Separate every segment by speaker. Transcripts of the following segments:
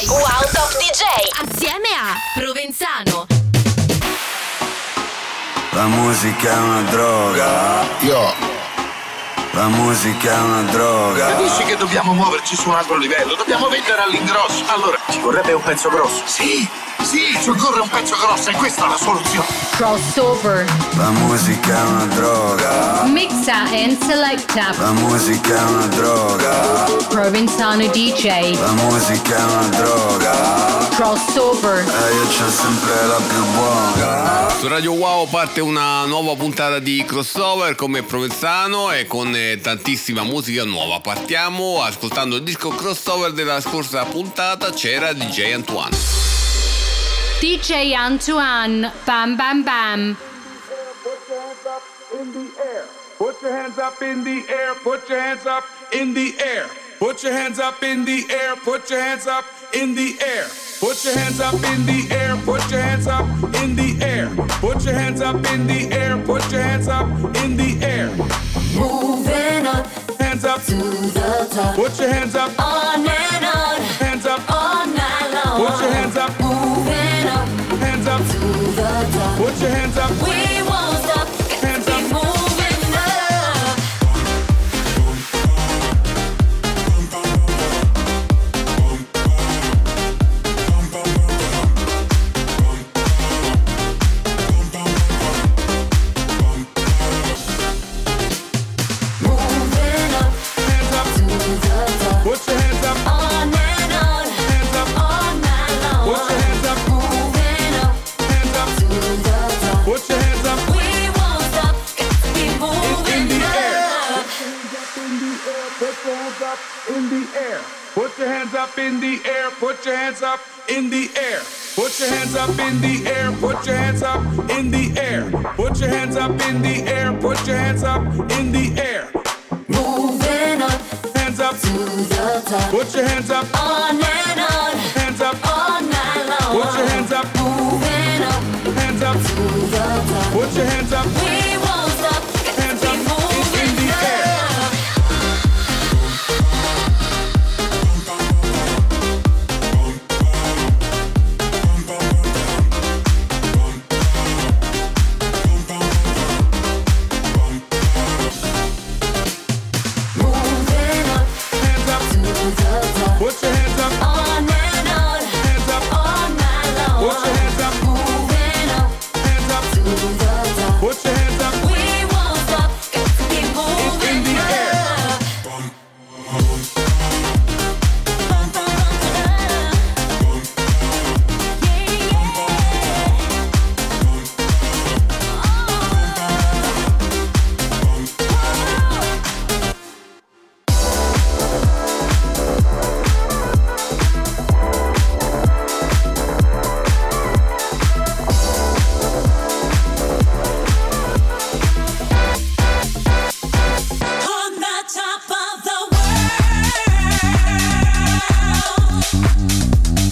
Speaker 1: Wow Top DJ
Speaker 2: assieme a Provenzano.
Speaker 3: La musica è una droga. La musica è una droga.
Speaker 4: Capisci che dobbiamo muoverci su un altro livello? Dobbiamo vendere all'ingrosso. Allora, ci vorrebbe un pezzo grosso. Sì, ci occorre un pezzo grosso e questa è la soluzione.
Speaker 2: Crossover.
Speaker 3: La musica è una droga.
Speaker 2: Mixa and selecta.
Speaker 3: La musica è una droga.
Speaker 2: Provenzano DJ.
Speaker 3: La musica è una droga.
Speaker 2: Crossover.
Speaker 3: E io c'ho sempre la più buona.
Speaker 5: Su Radio Wow parte una nuova puntata di Crossover come Provenzano e con tantissima musica nuova. Partiamo ascoltando il disco Crossover della scorsa puntata, c'era DJ Antoine.
Speaker 2: DJ Antoine, bam bam bam.
Speaker 6: Put your hands up in the air, put your hands up in the air. Put your hands up in the air, put your hands up in the air. Put your hands up in the air, put your hands up in the air. Put your hands up in the air, put your hands up in the air.
Speaker 7: Moving up,
Speaker 6: hands up
Speaker 7: to the top.
Speaker 6: Put your hands up,
Speaker 7: on and on,
Speaker 6: hands up
Speaker 7: all night long.
Speaker 6: Put your hands up,
Speaker 7: moving up,
Speaker 6: hands up
Speaker 7: to the top.
Speaker 6: Put your hands up,
Speaker 7: we won't stop,
Speaker 6: hands
Speaker 7: keep
Speaker 6: up.
Speaker 7: moving up. Moving up,
Speaker 6: Hands up,
Speaker 7: to the top.
Speaker 6: put your hands up,
Speaker 7: On and on,
Speaker 6: hands up,
Speaker 7: all night long.
Speaker 6: put your hands up,
Speaker 7: Moving up,
Speaker 6: hands up,
Speaker 7: to the top.
Speaker 6: put your hands up.
Speaker 7: We won't stop, keep
Speaker 6: In
Speaker 7: moving
Speaker 6: the air.
Speaker 7: up.
Speaker 6: In the air, put your hands up in the air, put your hands up in the air. Put your hands up in the air, put your hands up in the air. Put your hands up in the air, put your hands up in the air.
Speaker 7: Moving up
Speaker 6: Hands up,
Speaker 7: to the top.
Speaker 6: put your hands up,
Speaker 7: On and on,
Speaker 6: hands up,
Speaker 7: all night long.
Speaker 6: put your hands up,
Speaker 7: Moving up
Speaker 6: hands up,
Speaker 7: to the top.
Speaker 6: put your hands up,
Speaker 7: We won't stop,
Speaker 6: hands
Speaker 7: keep
Speaker 6: up
Speaker 7: moving
Speaker 6: in the air.
Speaker 7: up. Moving up
Speaker 6: Hands up,
Speaker 7: to the top.
Speaker 6: put your hands up,
Speaker 7: On and on,
Speaker 6: hands up,
Speaker 7: all night long.
Speaker 6: put your hands up,
Speaker 7: Moving up
Speaker 6: hands up,
Speaker 7: to the top.
Speaker 6: put your hands up.
Speaker 7: We won't stop, keep moving
Speaker 6: In the air.
Speaker 7: up. On the top of the world.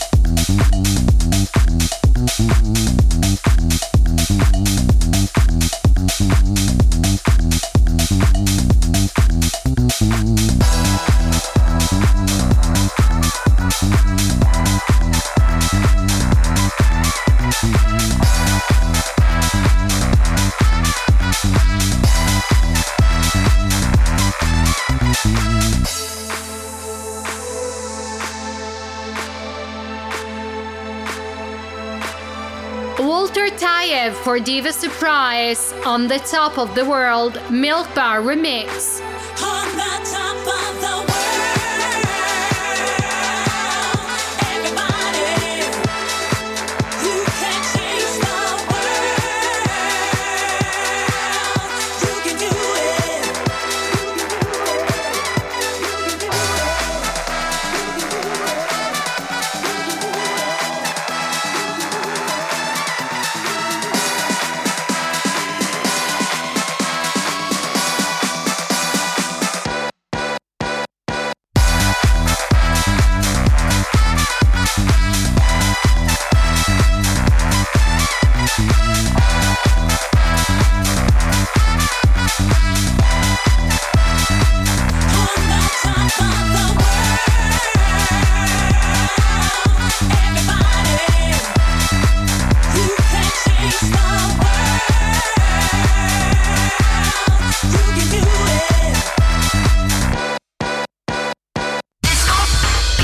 Speaker 2: Walter Tayev for Diva Surprise on the top of the world Milk Bar remix.
Speaker 7: On the top of the world. Everybody, you can change the world. You can do it.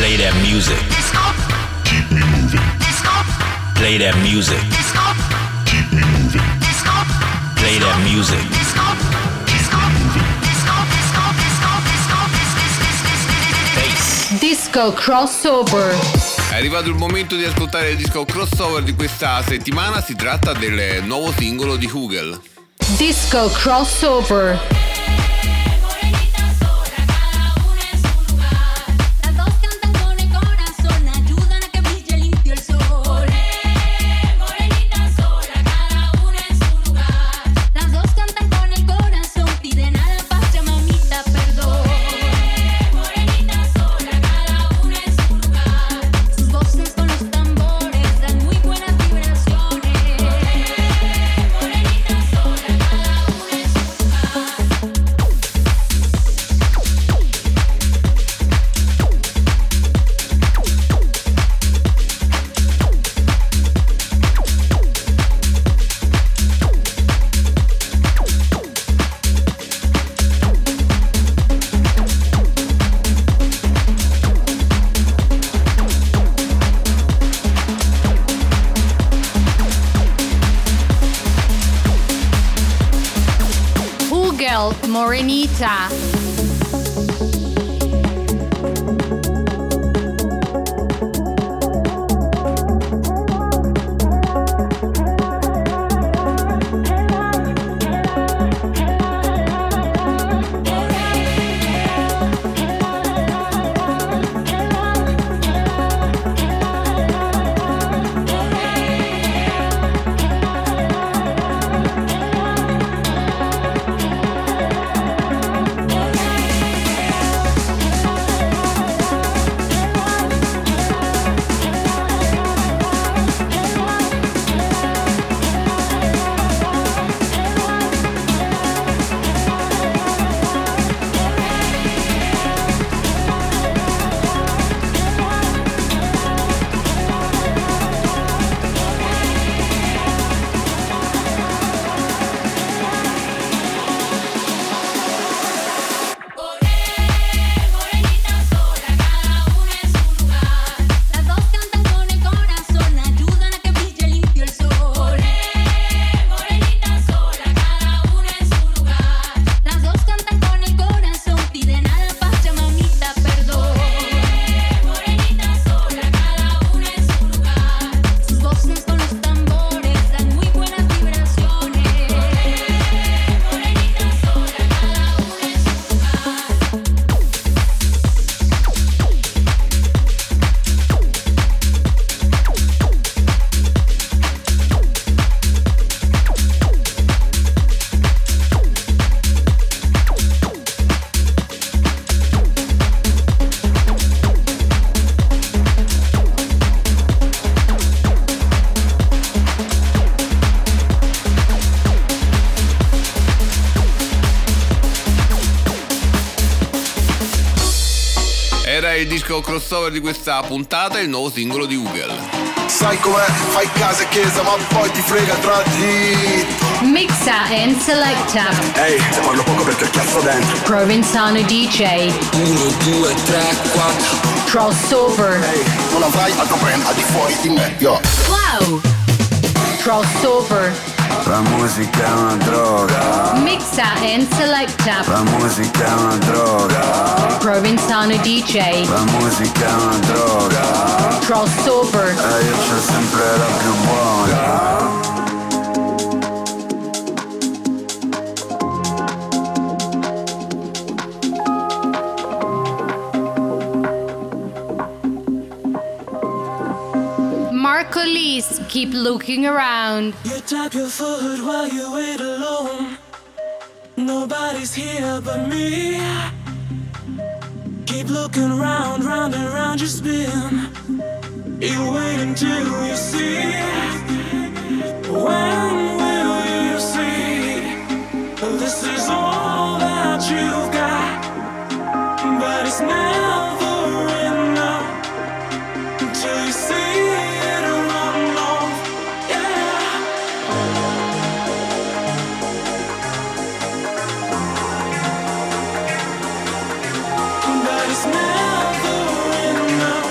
Speaker 1: Play that music. Keep me moving. Play that music. Keep me moving. Play that music.
Speaker 2: Disco crossover.
Speaker 5: È arrivato il momento di ascoltare il disco crossover di questa settimana, si tratta del nuovo singolo di Hugel.
Speaker 2: Disco crossover.
Speaker 7: Morenita sola, cada una en su lugar. Las dos cantan con el corazón, ayudan a que brille limpio el sol. Morenita sola, cada una en su lugar. Las dos cantan con el corazón, piden a la paz, ya mamita perdón. Morenita sola, cada una en su lugar. Sus voces con los tambores dan muy buenas vibraciones. Morenita sola, cada una en su lugar.
Speaker 2: Hugel, Morenita. Morenita sola, cada una en su lugar. Las dos cantan con el corazón, ayudan a que brille limpio el sol. Morenita sola, cada una en su lugar. Las dos cantan con el corazón, piden a la paz, ya mamita perdón. Morenita sola, cada una en su lugar. Sus voces con los tambores dan muy buenas vibraciones. Morenita sola, cada una en su lugar.
Speaker 5: Era il disco crossover di questa puntata, il nuovo singolo di Hugel.
Speaker 3: Sai com'è? Fai casa e chiesa ma poi ti frega tra di.
Speaker 2: Mixa and selecta.
Speaker 3: Ehi, te parlo poco perché ho chiasso dentro.
Speaker 2: Provenzano DJ.
Speaker 8: 1, 2, 3, 4.
Speaker 2: Crossover.
Speaker 3: Ehi, non avrai altro brand al di fuori di me, yo.
Speaker 2: Wow. Crossover.
Speaker 3: La musica è una droga.
Speaker 2: Mixa and selecta.
Speaker 3: La musica è una droga.
Speaker 2: Provenzano DJ.
Speaker 3: La musica è una droga.
Speaker 2: Crossover.
Speaker 3: E io c'ho sempre la più buona.
Speaker 2: Marco Lise, keep looking around.
Speaker 9: You tap your foot while you wait alone. Nobody's here but me. Keep looking round, round and round you spin. You wait until you see. When will you see? This is all that you've got. But it's never enough until you see it run off. Yeah. But it's never enough.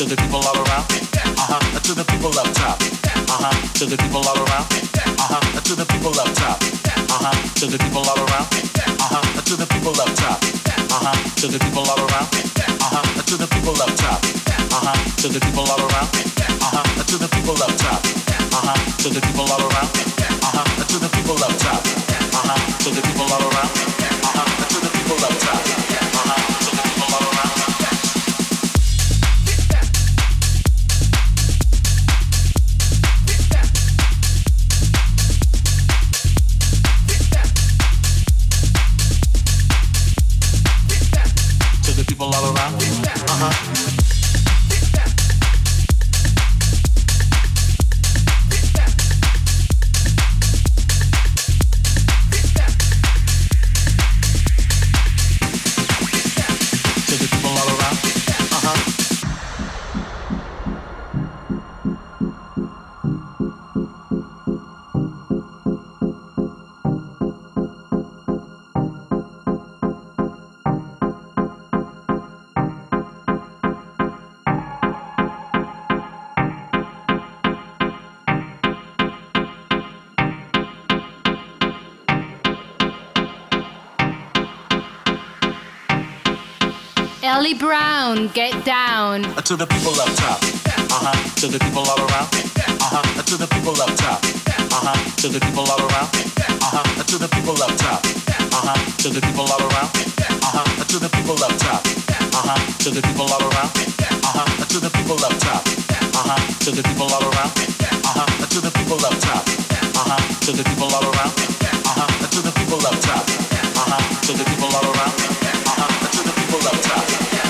Speaker 10: to the people all around. To the people up top. To the people all around. To the people up top. To the people all around. To the people up top. To the people all around. To the people up top. To the people all around. To the people up top. To the people all around. To the people up top. To the people all around. To the people up top. To the people all around. People all around. To the people all around.
Speaker 11: Ellie Brown, get down.
Speaker 10: To the people up top. To the people all around. To the people up top. To the people all around. To the people up top. To the people all around. To the people up top. To the people all around. To the people up top. To the people all around. To the people up top. To the people all around. To the people up top. To the people all around. To the people up top.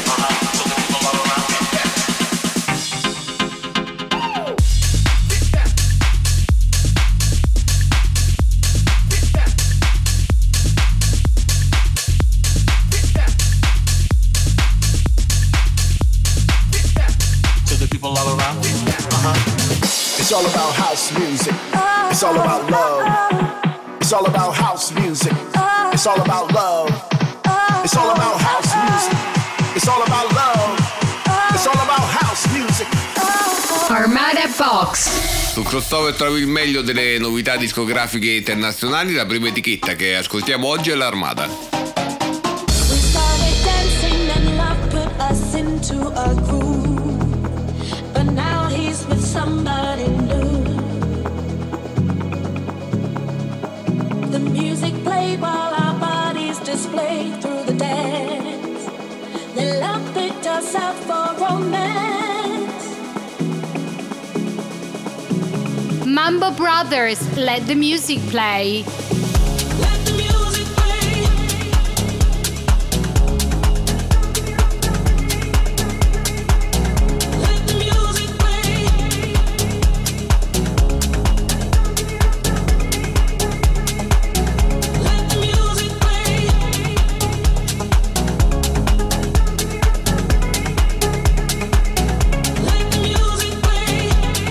Speaker 12: It's all about house music. It's all about love. It's all about house music. It's all about love. It's all about house music. It's all about love. It's all about house music.
Speaker 11: Armada Box.
Speaker 5: Sul crossover trovi il meglio delle novità discografiche internazionali. La prima etichetta che ascoltiamo oggi è l'Armada.
Speaker 2: We started dancing and love put us into a groove, but now he's with somebody new. The music played while our bodies displayed through the dance. The love picked us up for romance.
Speaker 11: Mambo Brothers, let the music play.
Speaker 2: Let the music play. Let the music play. Let the music play. Let the music play.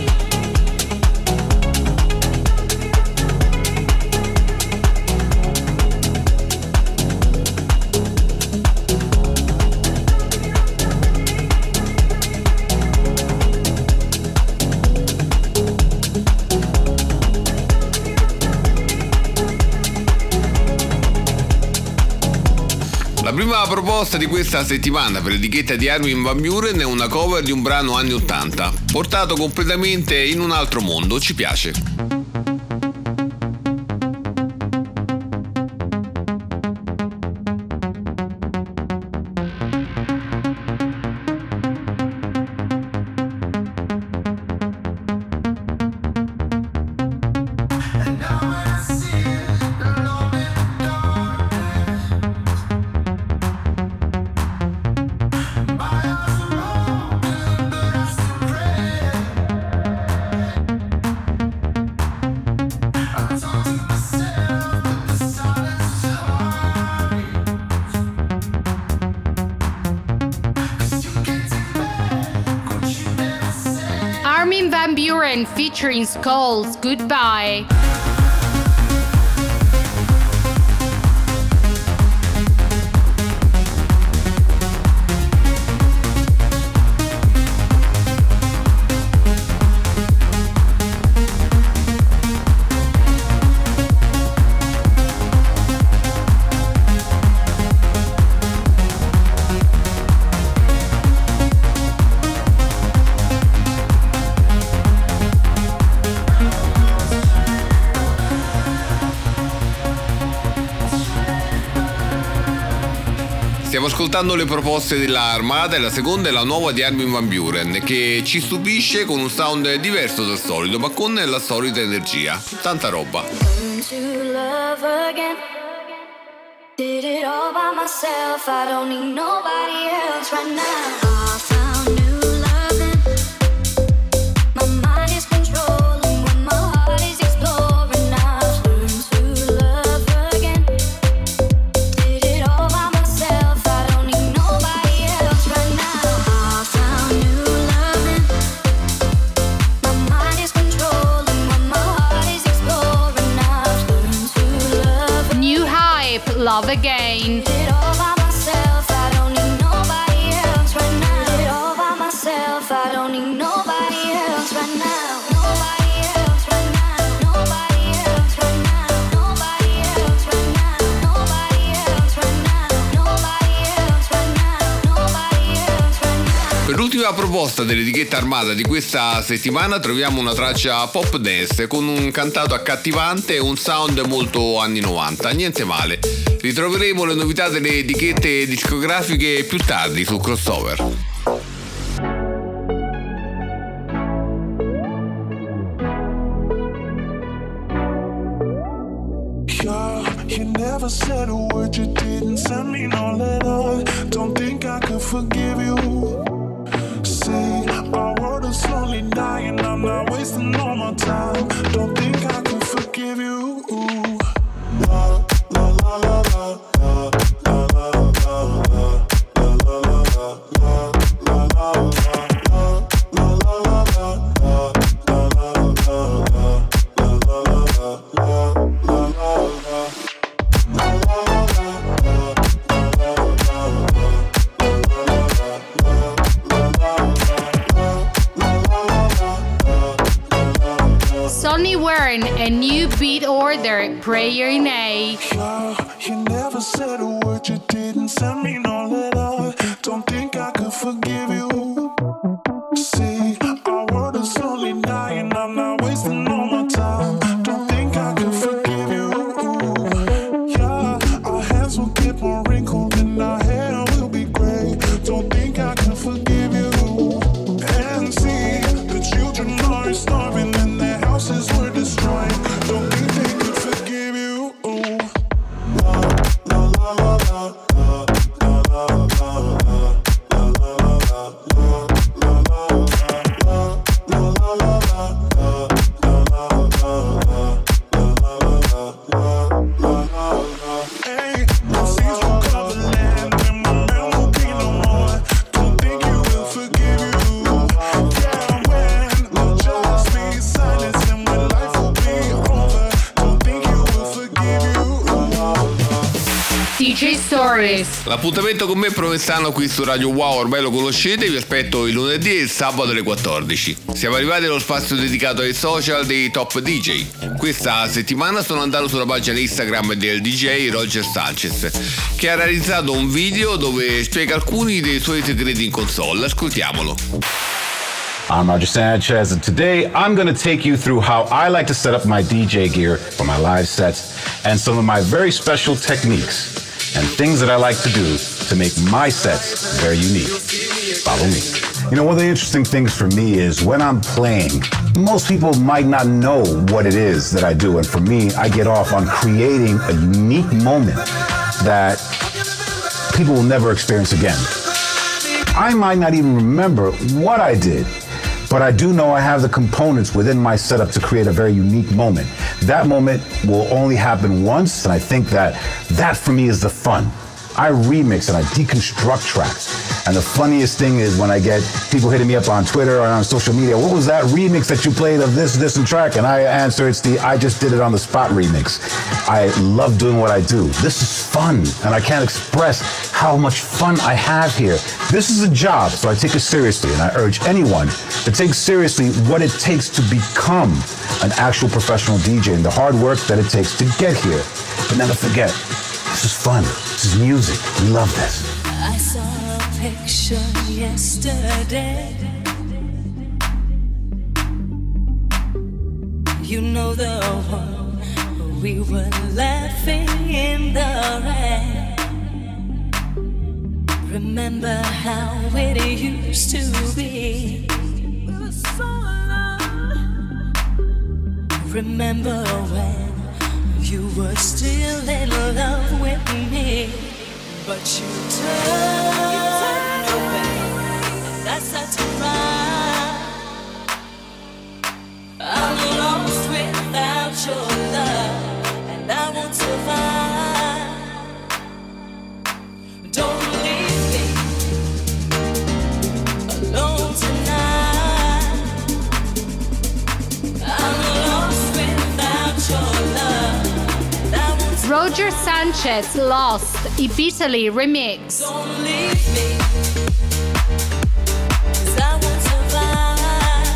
Speaker 5: La prima proposta di questa settimana per l'etichetta di Armin van Buuren è una cover di un brano anni 80, portato completamente in un altro mondo, ci piace.
Speaker 11: Armin van Buuren featuring Skulls, Goodbye.
Speaker 5: Stiamo ascoltando le proposte della Armada e la seconda è la nuova di Armin van Buuren, che ci stupisce con un sound diverso dal solito, ma con la solita energia. Tanta roba.
Speaker 2: To love again. Did it all by myself. I don't need nobody else right now. I found new loving. My mind is controlling when my heart is exploring. I've learned to love again. Did it all by myself. I don't need nobody else right now. I found new loving. My mind is controlling when my heart is exploring. I've learned to love.
Speaker 11: New hype, love again.
Speaker 2: Did it all by myself. I don't need nobody else right now. Did it all by myself. I don't need nobody else right now. Nobody else right now. Nobody else right now. Nobody else right now. Nobody else right now. Nobody else right now. Nobody else right now.
Speaker 5: Per l'ultima proposta dell'etichetta Armada di questa settimana troviamo una traccia pop dance con un cantato accattivante e un sound molto anni 90, niente male. Ritroveremo le novità delle etichette discografiche più tardi su Crossover.
Speaker 9: You never said a word, you didn't send me no letter. Don't think I could forgive you. Say, our world is slowly dying, I'm not wasting all my time. Don't think I could forgive you. La, la, la, la, la, la, la, la, la, la, la, la, la, la,
Speaker 11: Sonny Warren, a new beat order, Prayer in A.
Speaker 9: You never said a word, you didn't send me no letter. Don't think I could forgive you. See, our world is slowly dying, I'm not wasting all my time. Don't think I could forgive you. Yeah, our hands will get more wrinkled and our hair will be gray. Don't think I could forgive you. And see, the children are starving and their houses were destroyed. Don't think they could forgive you. La, la, la, la, la, la, la, la, la, la.
Speaker 11: DJ Stories.
Speaker 5: L'appuntamento con me Provenzano qui su Radio Wow ormai lo conoscete, vi aspetto il lunedì e il sabato alle 14. Siamo arrivati allo spazio dedicato ai social dei top DJ. Questa settimana sono andato sulla pagina Instagram del DJ Roger Sanchez, che ha realizzato un video dove spiega alcuni dei suoi segreti in console. Ascoltiamolo.
Speaker 13: I'm Roger Sanchez, and today I'm going to take you through how I like to set up my DJ gear for my live sets and some of my very special techniques and things that I like to do to make my sets very unique. Follow me.
Speaker 14: You know, one of the interesting things for me is when I'm playing, most people might not know what it is that I do. And for me, I get off on creating a unique moment that people will never experience again. I might not even remember what I did, but I do know I have the components within my setup to create a very unique moment. That moment will only happen once, and I think that for me is the fun. I remix and I deconstruct tracks. And the funniest thing is when I get people hitting me up on Twitter or on social media, what was that remix that you played of this and track? And I answer, it's the I just did it on the spot remix. I love doing what I do. This is fun, and I can't express how much fun I have here. This is a job, so I take it seriously, and I urge anyone to take seriously what it takes to become an actual professional DJ and the hard work that it takes to get here. But never forget, this is fun. This is music. We love this.
Speaker 2: I saw a picture yesterday. You know the one where we were laughing in the rain.
Speaker 15: Remember how it used to be. We were so alone. Remember when you were still in love with me, but you turned away, and that's not right. I'm lost without your love, and I won't survive. Don't leave me alone tonight. I'm lost without your love, and I won't survive.
Speaker 11: Roger Sanchez, Lost, Italy remix.
Speaker 15: Don't leave me, 'cause I won't survive.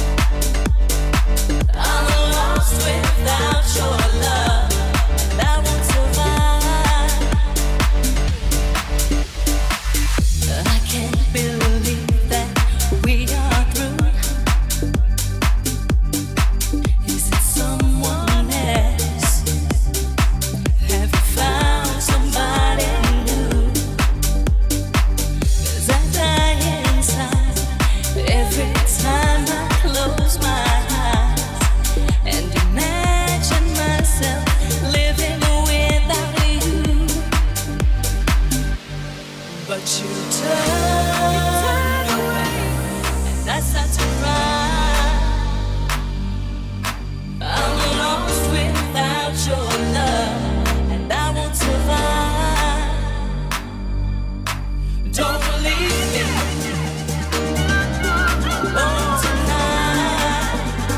Speaker 15: I'm lost without your love, and I won't survive. I can't believe that we are through. Is it someone else? Have you found somebody new? 'Cause I die inside every time I close my eyes and imagine myself living without you. But you turn away, and that's not right. I'm lost without your love, and I won't survive. Don't leave me alone tonight.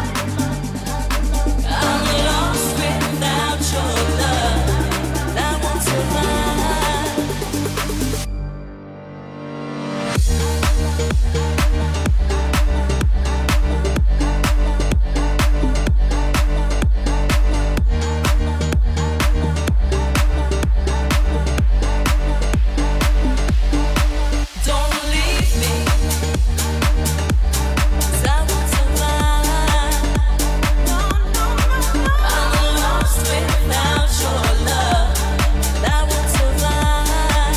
Speaker 15: I'm lost without your love, and I won't survive. Don't leave me, 'cause I won't survive. I'm lost without your love, and I won't survive.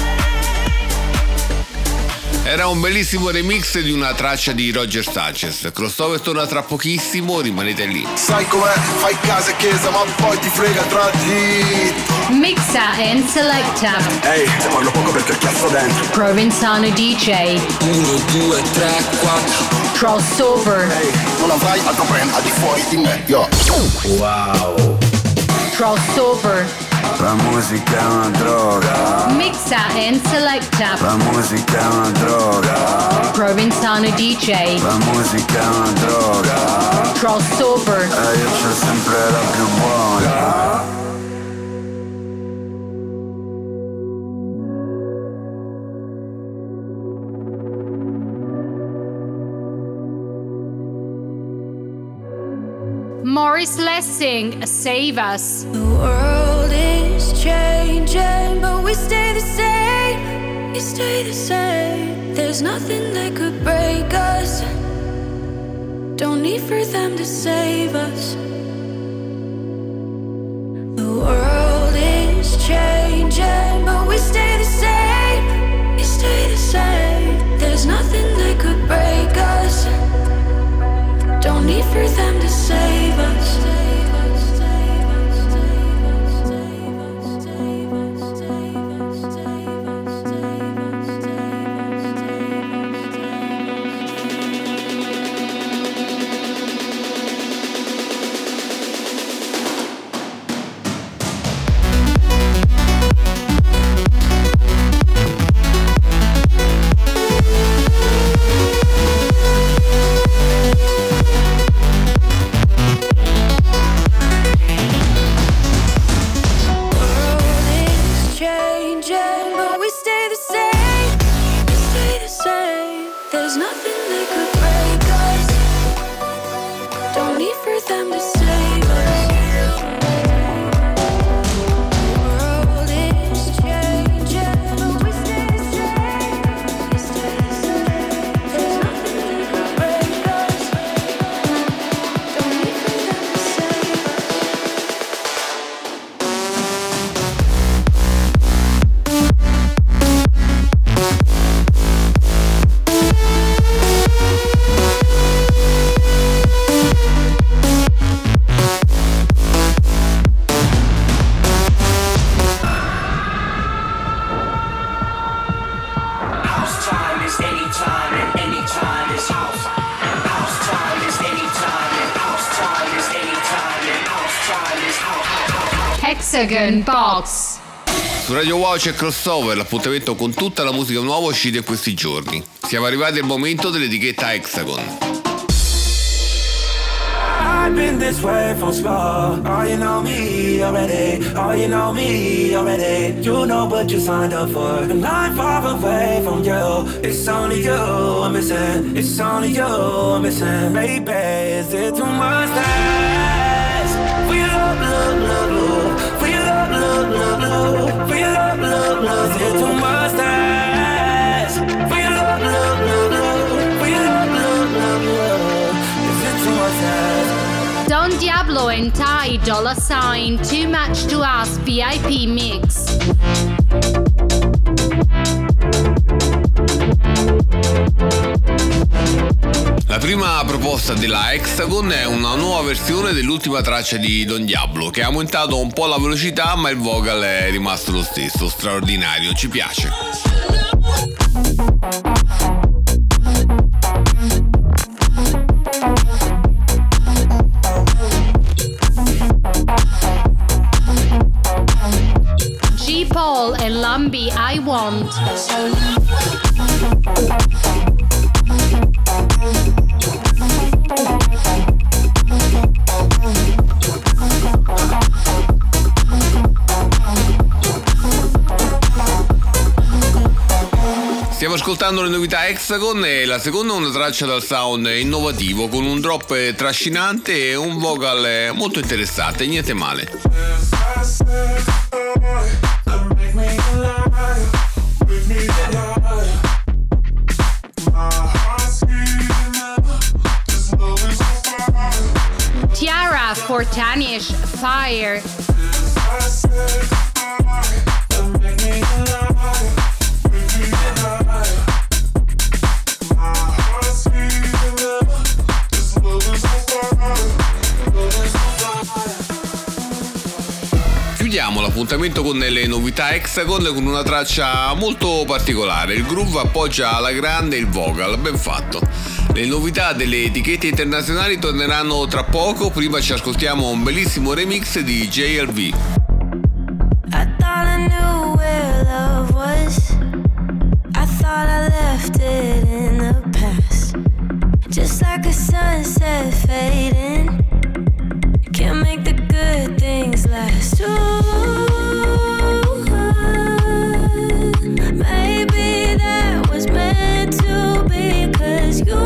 Speaker 5: Era un bellissimo remix di una traccia di Roger Sanchez. Crossover torna tra pochissimo, rimanete lì.
Speaker 12: Sai com'è? Fai casa e chiesa ma poi ti frega tra di.
Speaker 11: Mixa and selecta.
Speaker 12: Ehi, se parlo poco perché cazzo dentro.
Speaker 11: Provenzano DJ.
Speaker 8: 1, 2, 3, 4.
Speaker 11: Crossover.
Speaker 12: Ehi, non avrai altro brand al di fuori di me, yo.
Speaker 3: Wow.
Speaker 11: Crossover.
Speaker 3: La musica è una droga.
Speaker 11: Mixa and selecta.
Speaker 3: La musica è una droga.
Speaker 11: Provenzano DJ.
Speaker 3: La musica è una droga.
Speaker 11: Crossover.
Speaker 3: E io c'ho sempre la più buona.
Speaker 11: Morris Lessing, Save Us.
Speaker 15: The world is changing, but we stay the same. We stay the same. There's nothing that could break us. Don't need for them to save us. The world is changing, but we stay the same. We stay the same. There's nothing that could break us. Don't need for them to save us.
Speaker 11: Hexagon Box.
Speaker 5: Su Radio Wow c'è Crossover, l'appuntamento con tutta la musica nuova uscita in questi giorni. Siamo arrivati al momento dell'etichetta Hexagon.
Speaker 16: I've been this way from small. Oh, you know me already. Oh, you know me already. You know what you signed up for. And I'm far away from you. It's only you I'm missing. It's only you I'm missing. Baby, is it too much to ask? For your love, love, love, love. For your love, love, love, love. For your love, love, love. Is it too much to ask? For your love, love, love, love. For your love, love, love, love. Is it too much to ask?
Speaker 11: Don Diablo and Ty Dolla $ign, Too Much to Ask VIP mix.
Speaker 5: La prima proposta della Hexagon è una nuova versione dell'ultima traccia di Don Diablo, che ha aumentato un po' la velocità, ma il vocal è rimasto lo stesso, straordinario, ci piace.
Speaker 11: G-Paul e Lumby, I Want.
Speaker 5: Stiamo ascoltando le novità Hexagon e la seconda è una traccia dal sound innovativo con un drop trascinante e un vocal molto interessante, niente male.
Speaker 11: Tiara Fortanish, Fire.
Speaker 5: Chiudiamo l'appuntamento con le novità Hexagon con una traccia molto particolare. Il groove appoggia alla grande il vocal, ben fatto. Le novità delle etichette internazionali torneranno tra poco, prima ci ascoltiamo un bellissimo remix di JLV.
Speaker 15: I thought I knew where love was. I thought I left it in the past. Just like a sunset fading. Can't make the good things last. Ooh, maybe that was meant to be, 'cause you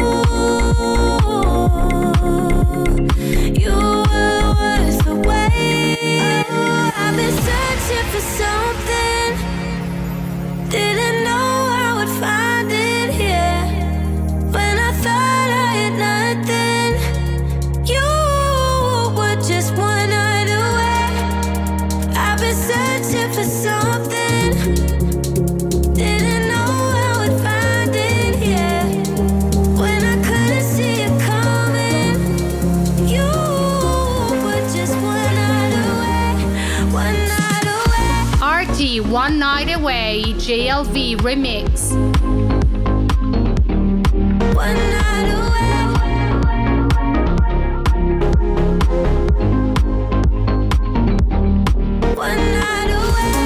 Speaker 15: were worth the wait. I've been searching for something, didn't know I would find it here. When I thought I had nothing, you were just one night away. I've been searching for something, didn't know I would find it here. When I couldn't see it coming, you were just one night away. One night away.
Speaker 11: RT One Night Away, JLV remix.
Speaker 15: One night away. One night away.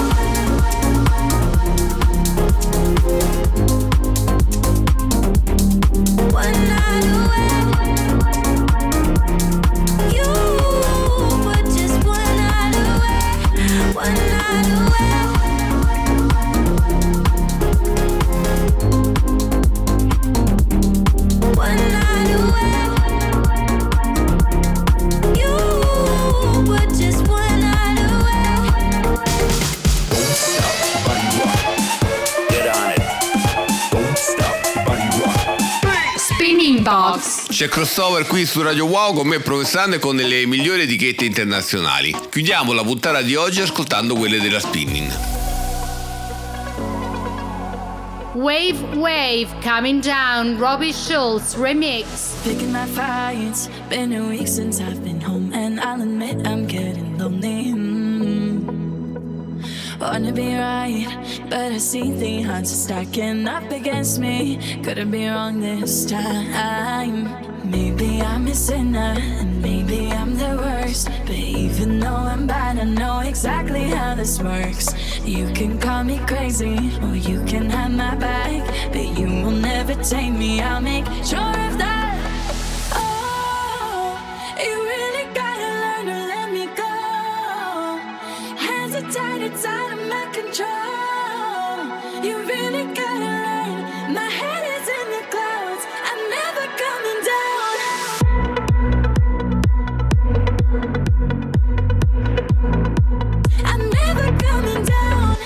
Speaker 15: One night away. You were just one night away. One night away. One night away. You were just one night away.
Speaker 17: Don't stop, body rock. Get on it. Don't stop, body rock.
Speaker 11: Spinning Box.
Speaker 5: C'è Crossover qui su Radio Wow con me Provenzano e con le migliori etichette internazionali. Chiudiamo la puntata di oggi ascoltando quelle della Spinning.
Speaker 11: Wave Wave, Coming Down, Robbie Schulz remix.
Speaker 18: Picking my fights, been a week since I've been home, and I'll admit I'm getting lonely. Wanna be right, but I see the odds stacking up against me. Couldn't be wrong this time. Maybe I'm a sinner, and maybe I'm the worst. But even though I'm bad, I know exactly how this works. You can call me crazy, or you can have my back, but you will never take me. I'll make sure of that. Oh, you really gotta learn to let me go. Hands are tied, it's out of my control. You really gotta learn. My head is in the clouds. I'm never coming down. I'm never coming down.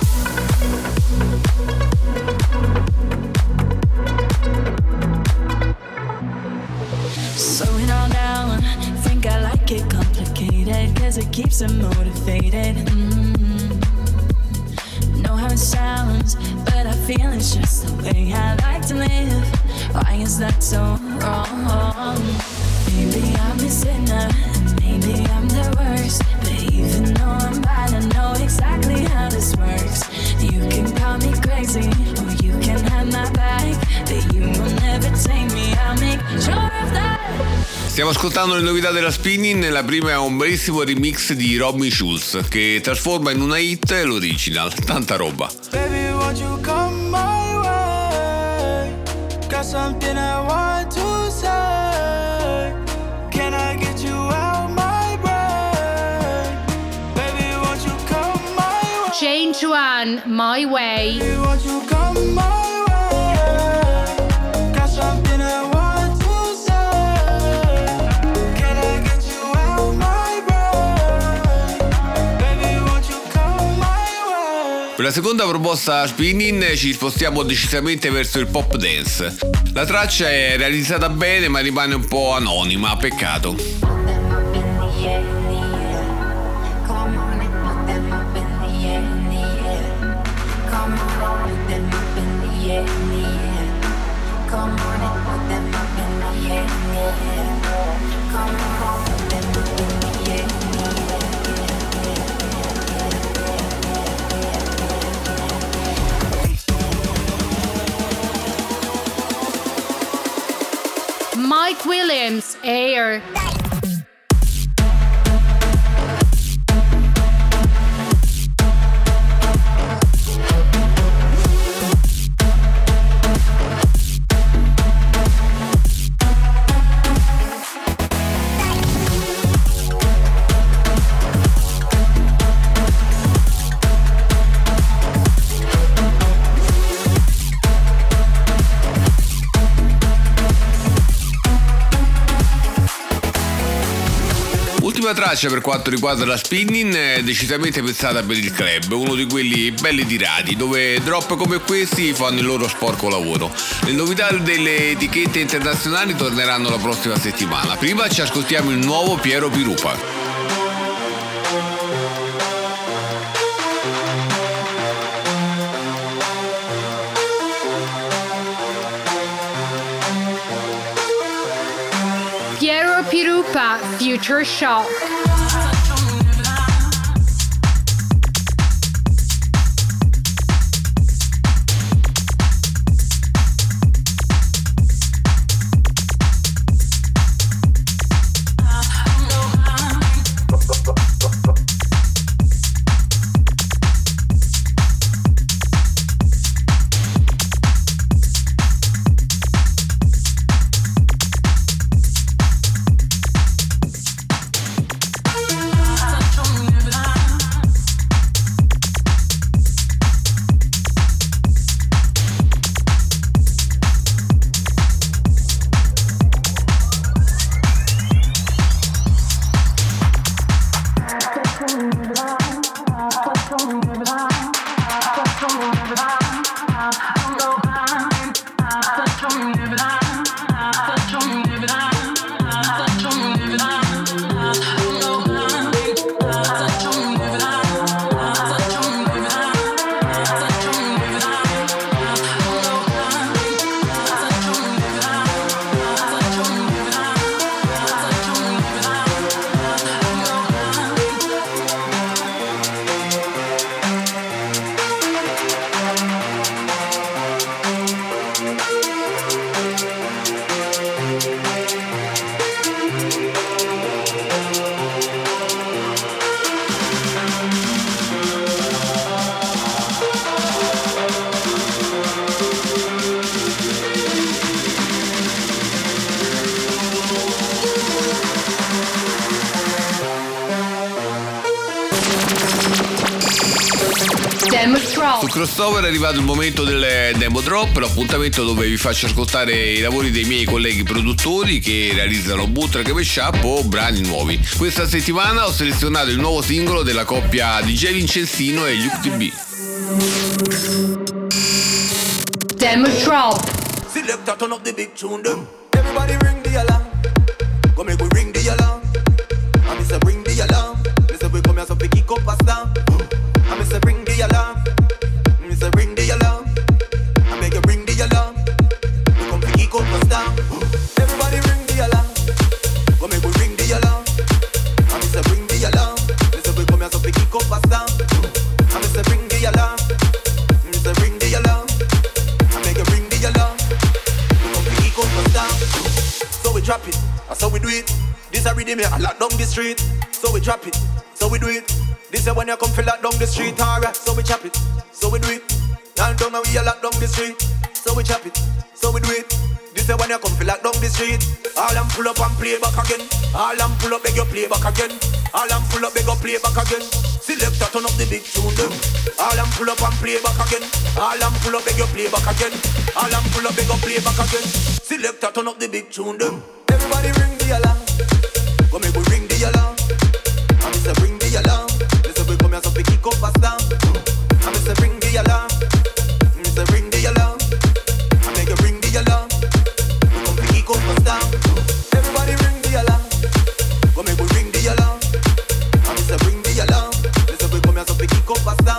Speaker 18: Slow it all down. Think I like it complicated, cause it keeps them motivated. Know how it sounds, but I feel it's just the way I like to live. Why is that so wrong? Maybe I'm a sinner, maybe I'm the worst, but even though I'm bad, I know exactly how this works. You can call me crazy, or you can have my back, but you will never take me. I'll make sure of that.
Speaker 5: Stiamo ascoltando le novità della Spinning. La prima è un bellissimo remix di Robin Schulz che trasforma in una hit l'original. Tanta roba.
Speaker 16: Baby, won't you come my way? Got something I want to say. Can I get you out my brain? Baby, won't you come my way?
Speaker 11: Jane Chuan, My Way.
Speaker 16: Baby, won't you come my way? Got something I want to say. Can I get you out my brain? Baby, won't you come my way?
Speaker 5: Per la seconda proposta Spinning ci spostiamo decisamente verso il pop dance. La traccia è realizzata bene ma rimane un po' anonima, peccato.
Speaker 11: Mike Williams, Air.
Speaker 5: L'ultima traccia per quanto riguarda la Spinning è decisamente pensata per il club, uno di quelli belli tirati, dove drop come questi fanno il loro sporco lavoro. Le novità delle etichette internazionali torneranno la prossima settimana. Prima ci ascoltiamo il nuovo Piero Pirupa.
Speaker 11: Piero Pirupa, Future Shock.
Speaker 5: Su Crossover è arrivato il momento del Demo Drop, l'appuntamento dove vi faccio ascoltare i lavori dei miei colleghi produttori che realizzano bootleg, mashup o brani nuovi. Questa settimana ho selezionato il nuovo singolo della coppia DJ Vincenzino e Luke TB.
Speaker 11: Demo Drop.
Speaker 19: Selector, turn up the big tune them. Everybody ring the alarm. Go make we ring the alarm. I miss a ring the alarm. Miss a we come here so pick it up a star. I miss a ring the alarm. Miss a ring the alarm. I make a ring the alarm. We come pick it up a star. Everybody ring the alarm. Go make we ring the alarm. I miss a ring the alarm. Miss a we come here so pick it up a star. I miss a ring the alarm. Miss a ring the alarm. I make a ring the alarm. We come pick it up a star. So we drop it, that's how we do it. This a rhythm here, I lock down the street. So we drop it, so we do it. This is when you come feel lock down the street, alright. So we chop it, so we do it. Down down we a lock down the street. So we chop it, so we do it. This is when you come feel lock down the street. All them pull up and play back again. All them pull up, beg you play back again. All them pull up, beg you play back again. Selector, turn up the big tune them. All them pull up and play back again. All them pull up, beg you play back again. All them pull up, beg you play back again. Selector, turn up the big tune them. Everybody ring the alarm. Go make we ring the alarm. I miss a ring the alarm. Miss a we come here so pick it up a star. I miss a ring the alarm. Miss a ring the alarm. I make a ring the alarm. We come pick it up a star. Everybody ring the alarm. Go make we ring the alarm. I miss a ring the alarm. Miss a we come here so pick it up a star.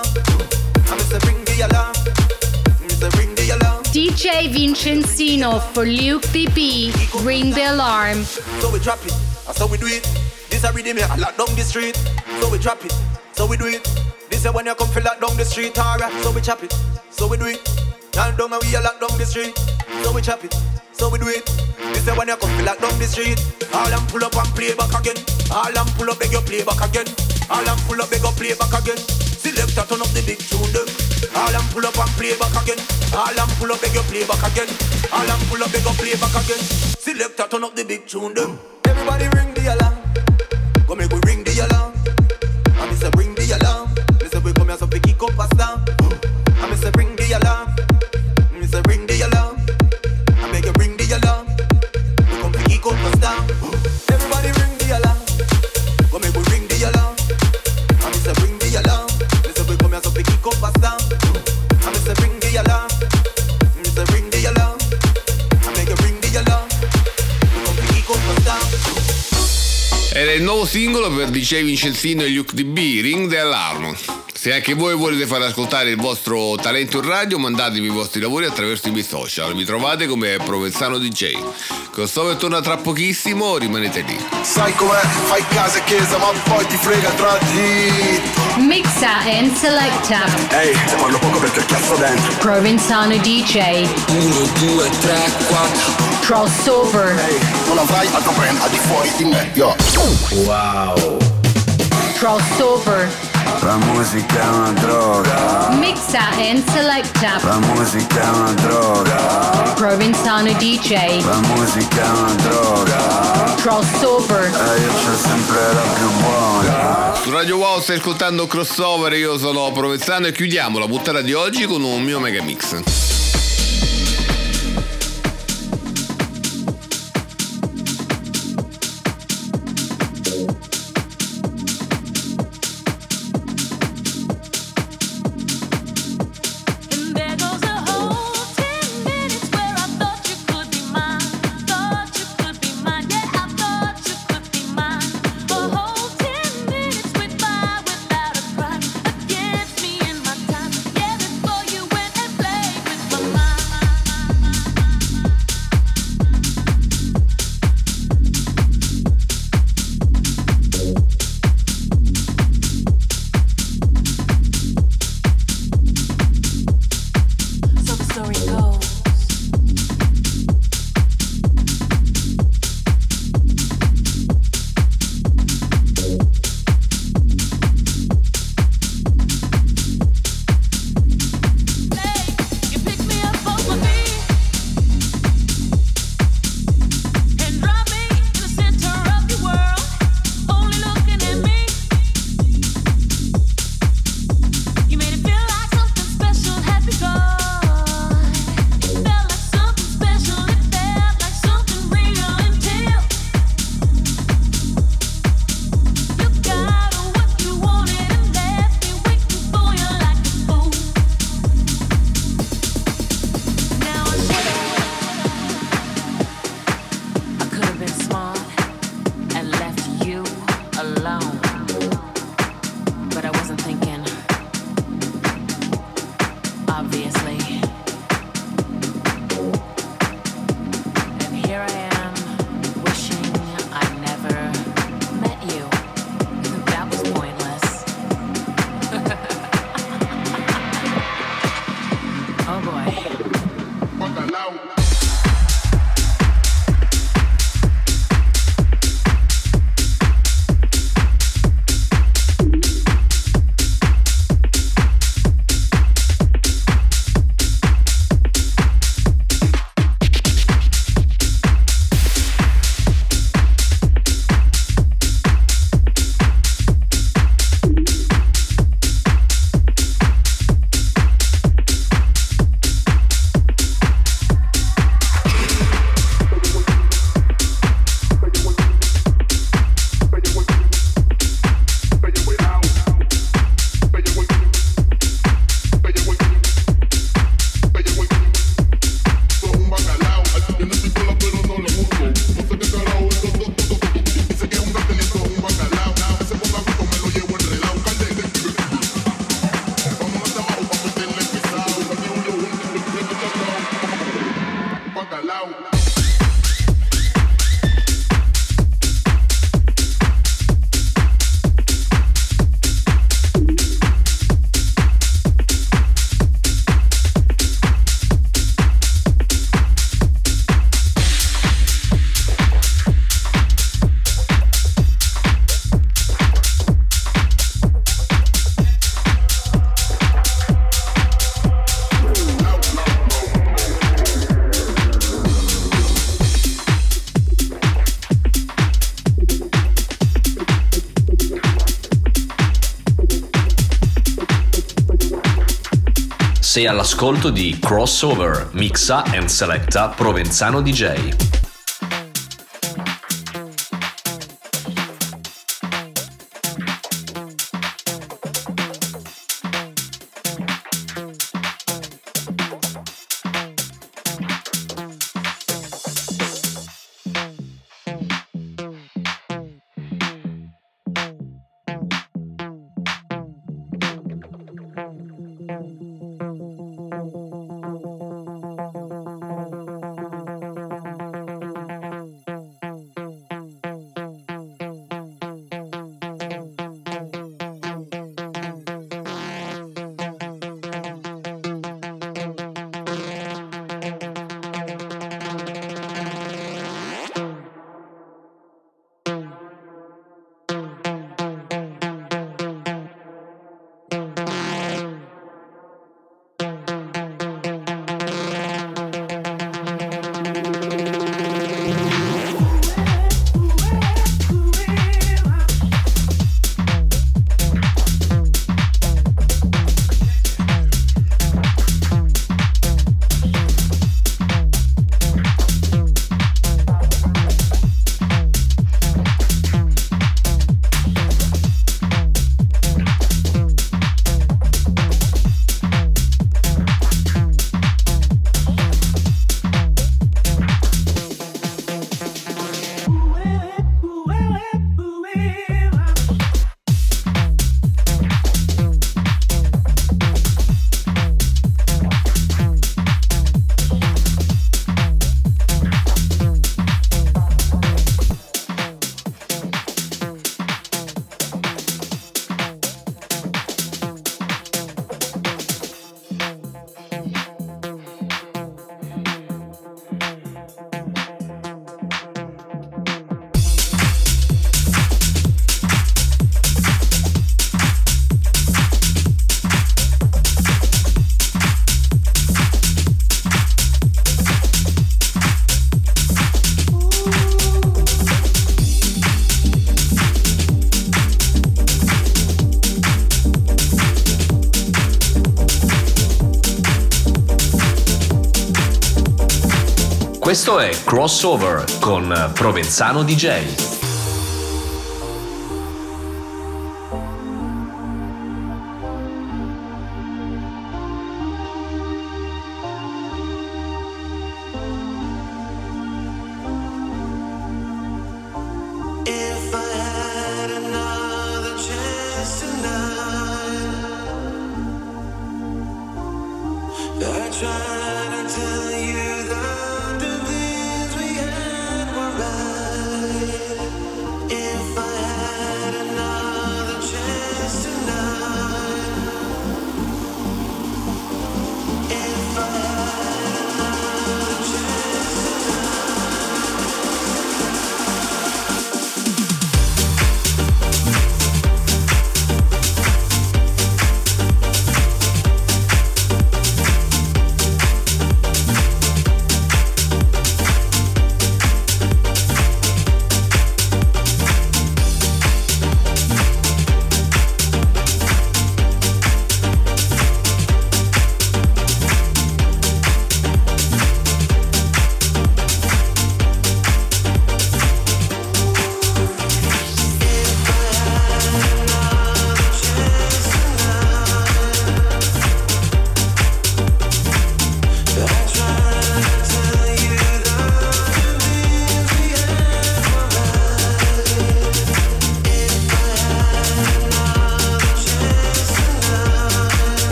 Speaker 19: I miss a ring the alarm. Miss a ring the alarm.
Speaker 11: DJ Vincenzino for Luke TB. Ring the alarm.
Speaker 19: So we drop it, that's how we do it. This a rhythm here, I lock down the street. So we drop it, so we do it. This is when you come feel lock down the street, alright. So we chop it, so we do it. Down down and we a lock down the street. So we chop it, so we do it. This is when you come feel lock down the street. All them pull up and play back again. All them pull up, beg you play back again. All them pull up, beg you play back again. Selector, turn up the big tune them. All them pull up and play back again. All them pull up, beg you play back again. All them pull up, beg you play back again. Selector, turn up the big tune them. Everybody ring the alarm. Go make we ring the alarm. I miss a ring the alarm. Miss a we come here so pick it up a star. I miss a ring the alarm. Miss a ring the alarm. I make a ring the alarm. We come pick it up a star. Everybody ring the alarm. Go make we ring the alarm. I miss a ring the alarm. Miss a we come here so pick it up a star. I miss a ring the alarm. Miss a ring the alarm. I make a ring the alarm. We come pick it up a star.
Speaker 5: Era il nuovo singolo per DJ Vincenzino e Luke DB, Ring the Alarm. Se anche voi volete far ascoltare il vostro talento in radio, mandatemi i vostri lavori attraverso i miei social. Mi trovate come Provenzano DJ. Crossover torna tra pochissimo, rimanete lì.
Speaker 12: Sai com'è? Fai casa e chiesa, ma poi ti frega tra di.
Speaker 11: Mixa and selecta.
Speaker 12: Ehi, se parlo poco perché cazzo dentro.
Speaker 11: Provenzano DJ.
Speaker 8: 1, 2, 3, 4.
Speaker 11: Crossover.
Speaker 12: Ehi, non avrai altro brand al di fuori di me, yo.
Speaker 3: Wow.
Speaker 11: Crossover.
Speaker 3: La musica è una droga.
Speaker 11: Mixa and selecta.
Speaker 3: La musica è una droga.
Speaker 11: Provenzano DJ.
Speaker 3: La musica è una droga.
Speaker 11: Crossover.
Speaker 3: Io c'ho sempre la più buona.
Speaker 5: Su Radio Wow stai ascoltando Crossover, io sono Provenzano e chiudiamo la puntata di oggi con un mio mega mix.
Speaker 15: Against me and my time, yeah, before you went and played with
Speaker 18: wasn't thinking. Obviously. And here I am, wishing I never met you. That was pointless. Oh boy.
Speaker 20: Sei all'ascolto di Crossover, mixa and selecta Provenzano DJ. Questo è Crossover con Provenzano DJ.
Speaker 9: If I had another chance tonight,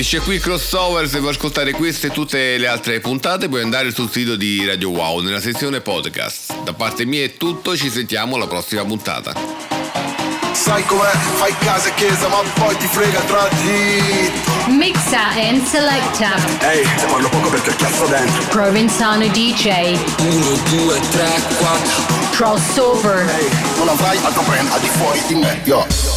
Speaker 5: Finisce qui Crossover. Se vuoi ascoltare queste e tutte le altre puntate puoi andare sul sito di Radio Wow nella sezione podcast. Da parte mia è tutto, ci sentiamo alla prossima puntata.
Speaker 12: Sai com'è, fai casa e chiesa ma poi ti frega tra di.
Speaker 11: Mixa and selecta.
Speaker 12: Ehi, te parlo poco perché cazzo dentro.
Speaker 11: Provenzano DJ.
Speaker 8: 1, 2, 3, 4.
Speaker 11: Crossover.
Speaker 12: Ehi, non avrai altro brand al di fuori di me, yo.